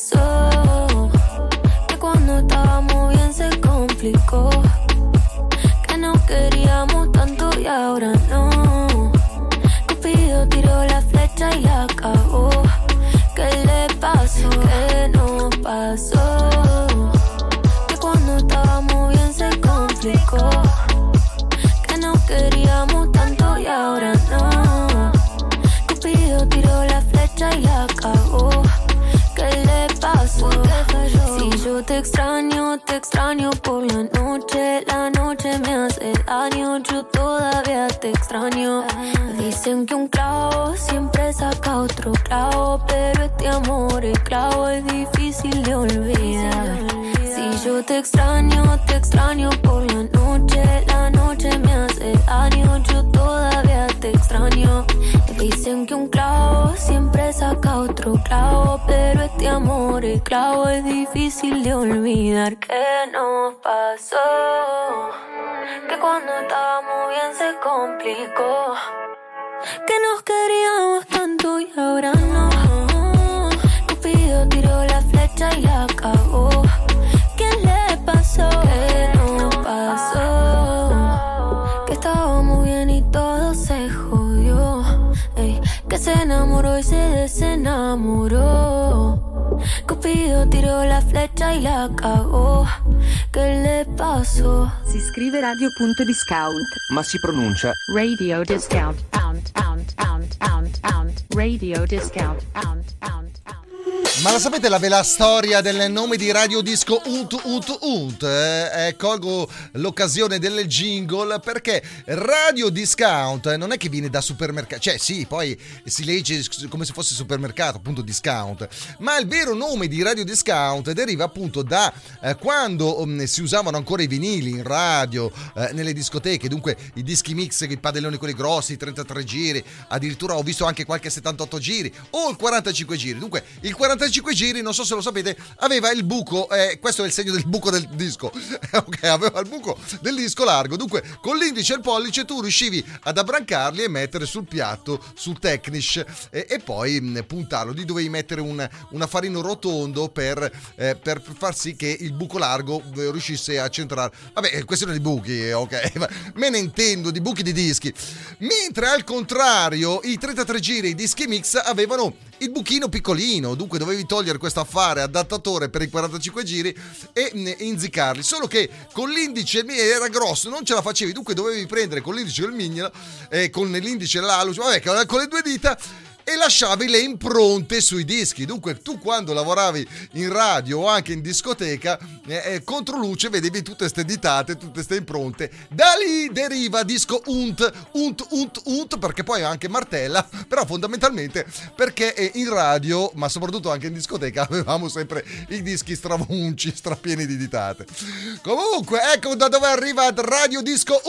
pasó? Que cuando estábamos bien se complicó, que nos queríamos tanto y ahora no. Cupido tiró la flecha y la cagó. ¿Qué le pasó? ¿Qué nos pasó? Que cuando estábamos bien se complicó, que nos queríamos tanto y ahora no. Cupido tiró la flecha y la cagó. ¿Qué le pasó? Si yo te extraño por la noche me hace daño, yo todavía te extraño. Dicen que un clavo siempre saca otro clavo, pero este amor, el clavo es difícil de olvidar. Si yo te extraño por la noche me hace daño, yo todavía te extraño. Dicen que un clavo siempre saca otro clavo, pero este amor, el clavo es difícil de olvidar. ¿Qué nos pasó? Que cuando estábamos bien se complicó, que nos queríamos tanto y ahora no. Cupido tiró la flecha y la cagó. ¿Qué le pasó? ¿Qué nos pasó? Que estábamos bien y todo se jodió. Que se enamoró y se desenamoró. Cupido tirò la fleccia e la cagò. Che le pasó? Si scrive radio.discount, ma si pronuncia Radio Discount. Radio Discount. Ma la sapete la storia del nome di Radio Disco Unt? Colgo l'occasione del jingle perché Radio Discount non è che viene da supermercato, cioè sì, poi si legge come se fosse supermercato, appunto discount, ma il vero nome di Radio Discount deriva appunto da quando si usavano ancora i vinili in radio, nelle discoteche, dunque i dischi mix, i padelloni quelli grossi, i 33 giri, addirittura ho visto anche qualche 78 giri o il 45 giri. Dunque il 45 giri, non so se lo sapete, aveva il buco, questo è il segno del buco del disco, ok, aveva il buco del disco largo, dunque con l'indice e il pollice tu riuscivi ad abbrancarli e mettere sul piatto, sul Technics, e poi puntarlo. Lì dovevi mettere un affarino rotondo per far sì che il buco largo riuscisse a centrare. Vabbè, questione di buchi, ok, me ne intendo di buchi di dischi. Mentre al contrario i 33 giri, i dischi mix avevano il buchino piccolino, dunque dovevi togliere questo affare adattatore per i 45 giri e inziccarli, solo che con l'indice era grosso, non ce la facevi, dunque dovevi prendere con l'indice e il mignolo, con l'indice e l'alluce, vabbè, con le due dita, e lasciavi le impronte sui dischi. Dunque tu quando lavoravi in radio o anche in discoteca, contro luce vedevi tutte ste ditate, tutte ste impronte. Da lì deriva disco unt, perché poi anche martella, però fondamentalmente perché in radio, ma soprattutto anche in discoteca, avevamo sempre i dischi stravunci, strapieni di ditate. Comunque ecco da dove arriva Radio Disco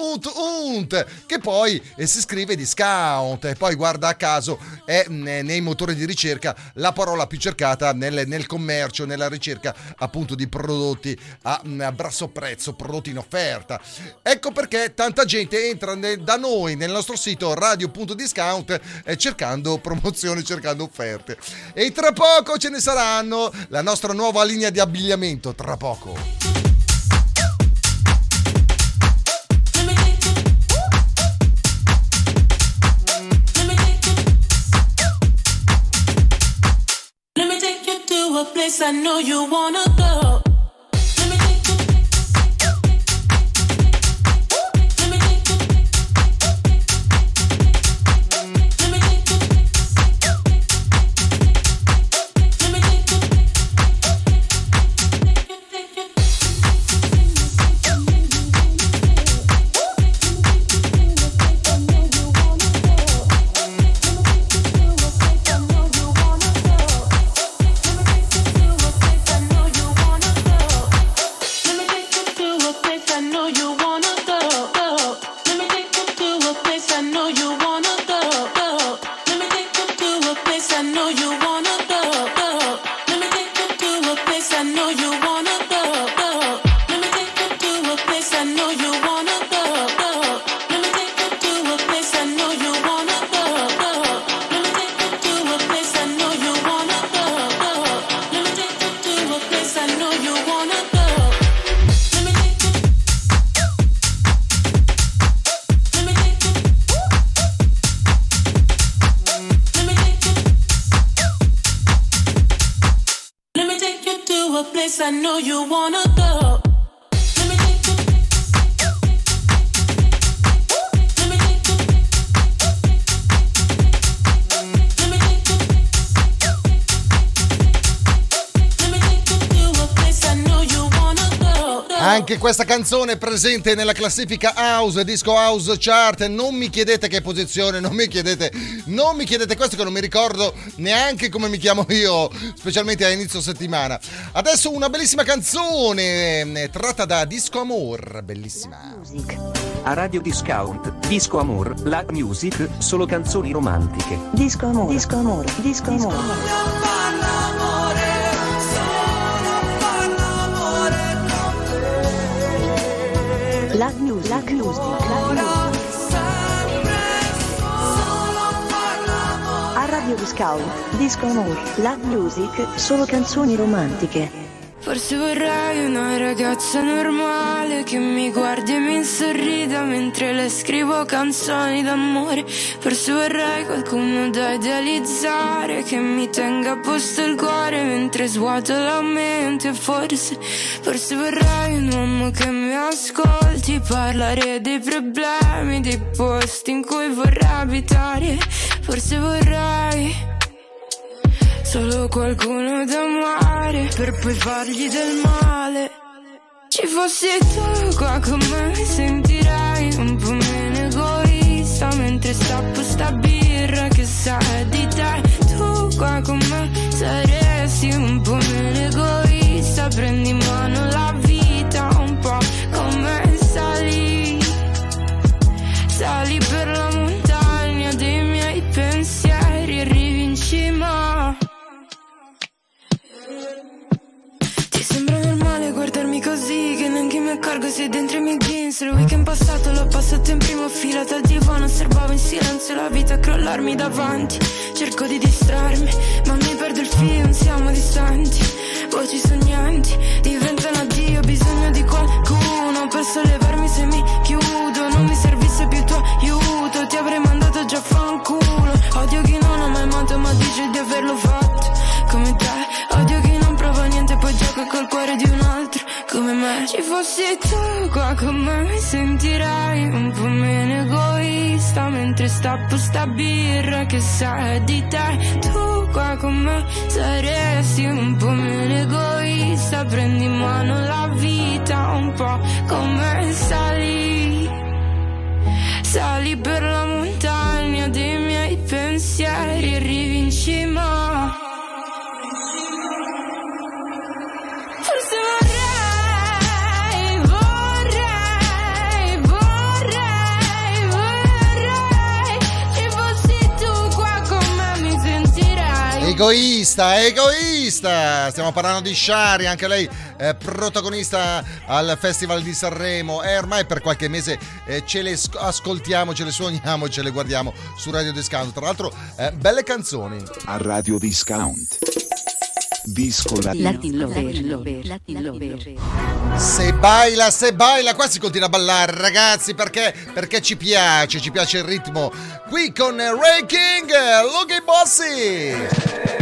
unt, che poi si scrive discount, e poi guarda caso è nei motori di ricerca la parola più cercata nel commercio, nella ricerca appunto di prodotti a basso prezzo, prodotti in offerta. Ecco perché tanta gente entra da noi nel nostro sito radio.discount cercando promozioni, cercando offerte, e tra poco ce ne saranno. La nostra nuova linea di abbigliamento tra poco. A place I know you wanna go. I know you wanna go. Anche questa canzone è presente nella classifica House, Disco House Chart. Non mi chiedete che posizione, non mi chiedete questo, che non mi ricordo neanche come mi chiamo io, specialmente a inizio settimana. Adesso una bellissima canzone tratta da Disco Amor, bellissima. A Radio Discount, Disco Amor, la music, solo canzoni romantiche. Disco Amor, Disco Amor, Disco Amor. La music, la music, la music. A Radio Discount, Disco Amor, la music, solo canzoni romantiche. Forse vorrei una ragazza normale che mi guardi e mi sorrida mentre le scrivo canzoni d'amore. Forse vorrei qualcuno da idealizzare che mi tenga a posto il cuore mentre svuoto la mente. Forse vorrei un uomo che mi ascolti parlare dei problemi, dei posti in cui vorrei abitare. Forse vorrei solo qualcuno da amare per poi fargli del male. Ci fossi tu qua con me mi sentirai un po' meno egoista mentre stappo sta birra che sa di te. Tu qua con me saresti un po' meno egoista, prendi in mano la vita un po' come sali. Sali per la montagna dei miei pensieri, arrivi in cima. Ti sembra normale guardarmi così, che neanche mi accorgo sei dentro i miei jeans. Il weekend passato l'ho passato in prima fila dal divano, osservavo in silenzio la vita crollarmi davanti. Cerco di distrarmi, ma mi perdo il filo, non siamo distanti. Voci sognanti diventano addio, bisogno di qualcuno per sollevarmi se mi chiudo. Non mi servisse più il tuo aiuto, ti avrei mandato già a fanculo. Odio chi non ha mai amato ma dice di averlo fatto come te. Odio chi non prova niente poi gioca col cuore di un altro come me. Ci fossi tu qua con me mi sentirai un po' meno egoista mentre stappo sta birra che sa di te. Tu qua con me saresti un po' meno egoista, prendi in mano la vita un po' come sali. Sali per la montagna dei miei pensieri, arrivi in cima. Forse vorrei ci fossi tu qua con me mi sentirai. Egoista, stiamo parlando di Shari, anche lei protagonista al Festival di Sanremo, e ormai per qualche mese ce le ascoltiamo, ce le suoniamo, ce le guardiamo su Radio Discount. Tra l'altro belle canzoni. A Radio Discount. Disco Latin Lover. Se baila, qua si continua a ballare, ragazzi, perché ci piace il ritmo. Qui con Ray King, Lucky Bossy.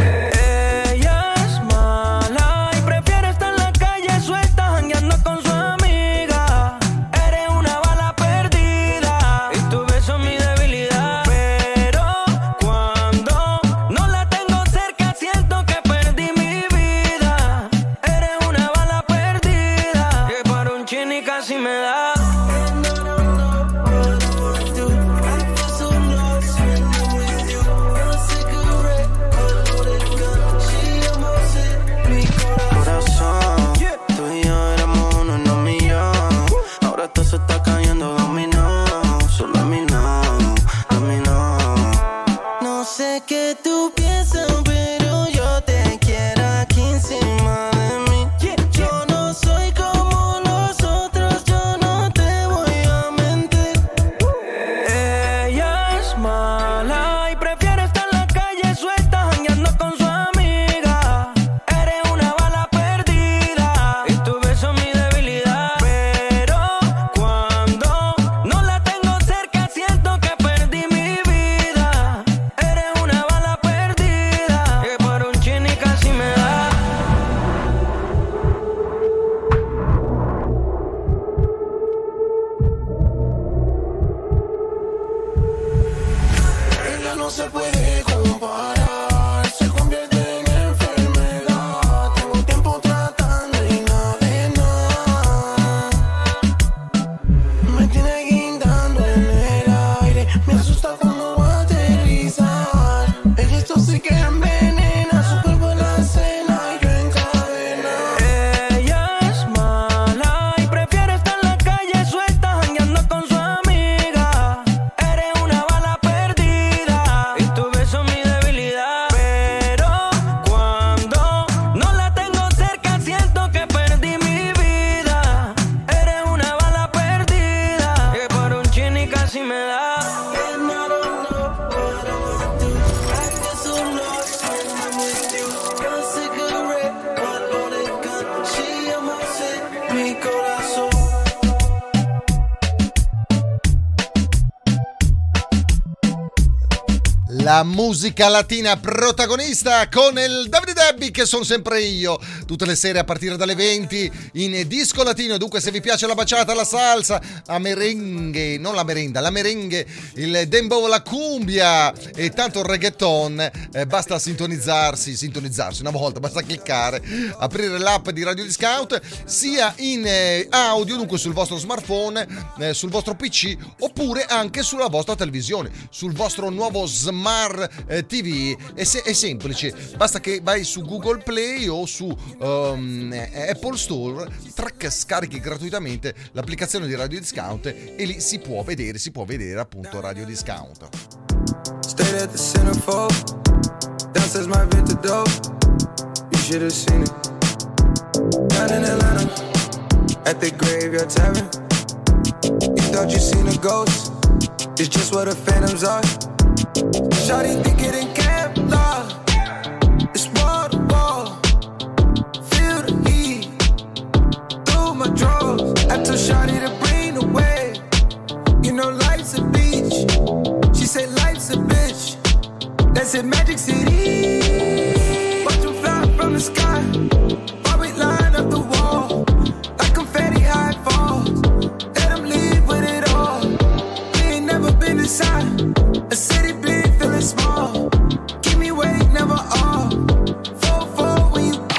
la musica latina protagonista con il Davide Debbie, che sono sempre io, tutte le sere a partire dalle 20 in disco latino. Dunque, se vi piace la baciata, la salsa, la merengue, non la merenda, la merengue, il dembow, la cumbia e tanto il reggaeton, basta sintonizzarsi una volta, basta cliccare, aprire l'app di Radio Discount, sia in audio, dunque sul vostro smartphone, sul vostro PC, oppure anche sulla vostra televisione, sul vostro nuovo Smart TV. È semplice, basta che vai su Google Play o su Apple Store, scarichi gratuitamente l'applicazione di Radio Discount e lì si può vedere appunto Radio Discount. Stayed at the centerfold, downstairs my vintage dope, you should have seen it. Down in Atlanta, at the Graveyard Tavern, you thought you seen a ghost, it's just what the phantoms are. Shawty think it in Kevlar, it's wall to wall, feel the heat through my drawers. I told Shawty to bring the wave, you know life's a beach. She said life's a bitch, that's in Magic City. Watch them fly from the sky, while we line up the wall, like confetti high falls. Let them leave with it all. We ain't never been inside a city big, feeling small. Keep me wait, never all. 4-4 when you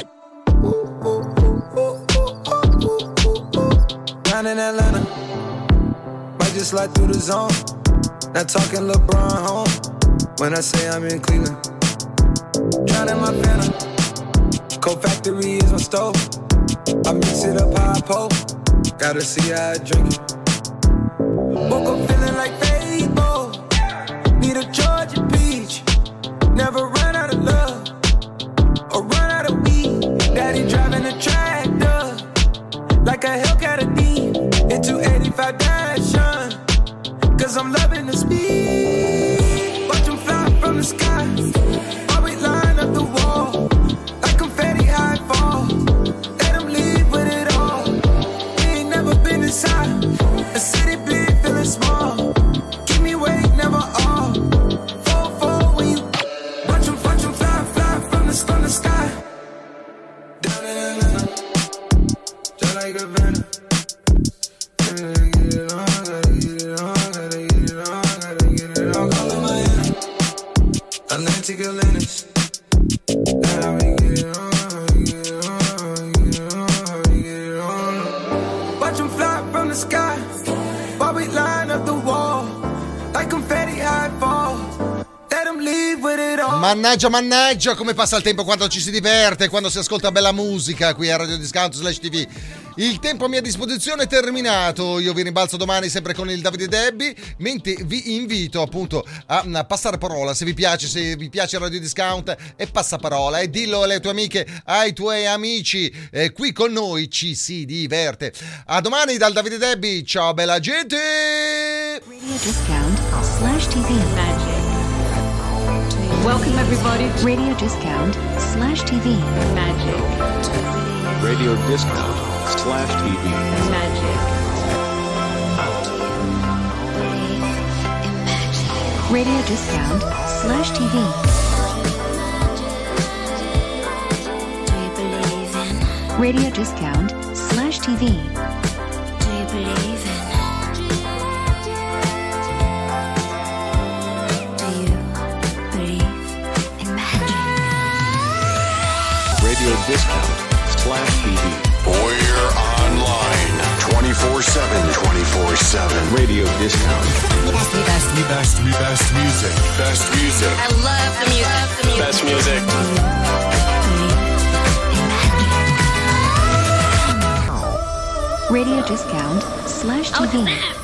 down in Atlanta, might just slide through the zone. Not talking LeBron home when I say I'm in Cleveland. Drowning my phantom, Cold Factory is my stove. I mix it up how I pull, gotta see how I drink it. Woke up feeling like Fable, need a Georgia peach. Never run out of love, or run out of weed. Daddy driving a tractor, like a Hellcat a D. Hit 285 Dash, cause I'm loving the speed. Watch them fly from the sky, while we line up the wall, like confetti high falls. Let them leave with it all. We ain't never been inside a city big, feeling small. Keep me wait, never all. 4-4 when you watch them fly from the sky. Down in Atlanta, just like a venom. Atlantic Atlantis. Now we get it on, get it on. Watch them fly from the sky, while we line up the wall, like confetti high falls. Let them leave with it all. Mannaggia, come passa il tempo quando ci si diverte, quando si ascolta bella musica qui a Radio Discount /TV. Il tempo a mia disposizione è terminato, io vi rimbalzo domani sempre con il Davide Debbie, mentre vi invito appunto a passare parola, se vi piace Radio Discount, e passa parola e dillo alle tue amiche, ai tuoi amici, qui con noi ci si diverte. A domani dal Davide Debbie, ciao bella gente! Radio Discount /TV Magic. Welcome everybody to Radio Discount /TV Magic. Radio Discount /TV Magic. Radio Discount /TV. Radio Discount /TV. Do you believe in? Do you believe in magic? Radio Discount /TV. We're online 24/7. Radio Discount. Best music. Best music. I love the music. Best music. Radio Discount /TV.